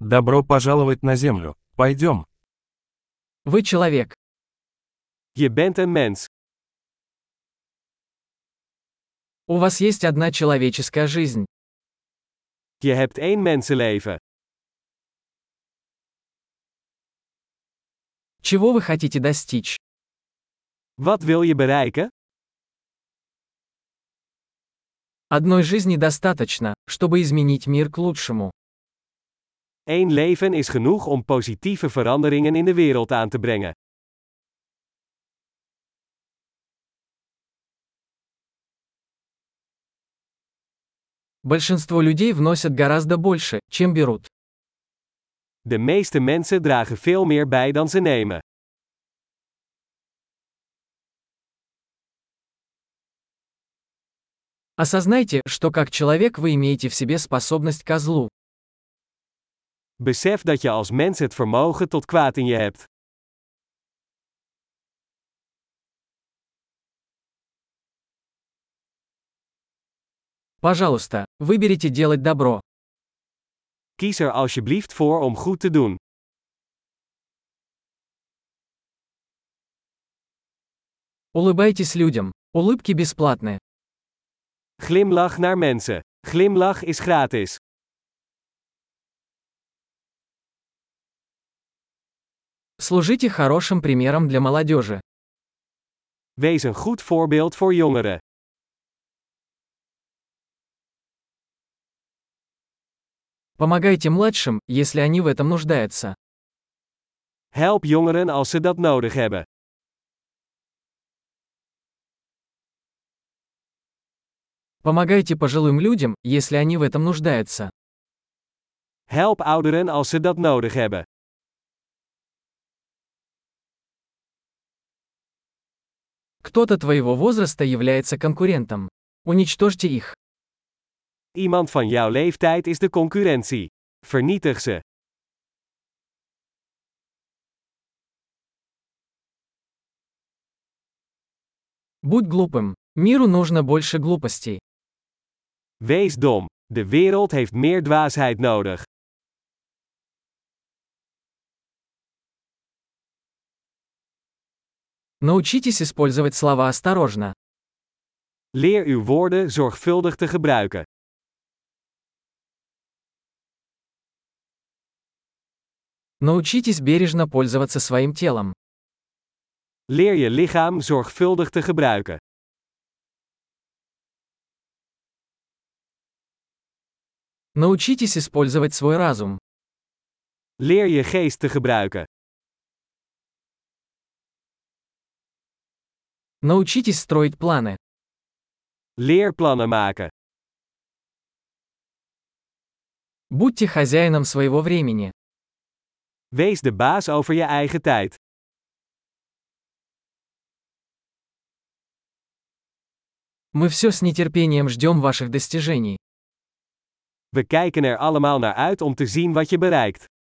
Добро пожаловать на Землю. Пойдем. Вы человек. Je bent een mens. У вас есть одна человеческая жизнь. Je hebt één mensenleven. Чего вы хотите достичь? Wat wil je bereiken? Одной жизни достаточно, чтобы изменить мир к лучшему. Eén leven is genoeg om positieve veranderingen in de wereld aan te brengen. Большинство людей вносят гораздо больше, чем берут. De meeste mensen dragen veel meer bij dan ze nemen. Осознайте, что как человек вы имеете в себе способность ко злу. Besef dat je als mens het vermogen tot kwaad in je hebt. Пожалуйста, выберите делать добро. Kies er alsjeblieft voor om goed te doen. Улыбайтесь людям. Улыбки бесплатны. Glimlach naar mensen. Glimlach is gratis. Служите хорошим примером для молодежи. Wees een goed voorbeeld voor jongeren. Помогайте младшим, если они в этом нуждаются. Help jongeren als ze dat nodig hebben. Помогайте пожилым людям, если они в этом нуждаются. Help ouderen als ze dat nodig hebben. Кто-то твоего возраста является конкурентом. Уничтожьте их. Iemand van jouw leeftijd is de concurrentie. Vernietig ze. Будь глупым. Миру нужно больше глупостей. Wees dom. De wereld heeft meer dwaasheid nodig. Научитесь использовать слова осторожно. Leer uw woorden zorgvuldig te gebruiken. Научитесь бережно пользоваться своим телом. Leer je lichaam zorgvuldig te gebruiken. Научитесь использовать свой разум. Leer je geest te gebruiken. Научитесь строить планы. Leer plannen maken. Будьте хозяином своего времени. Wees de baas over je eigen tijd. Мы все с нетерпением ждем ваших достижений. We kijken er allemaal naar uit om te zien wat je bereikt.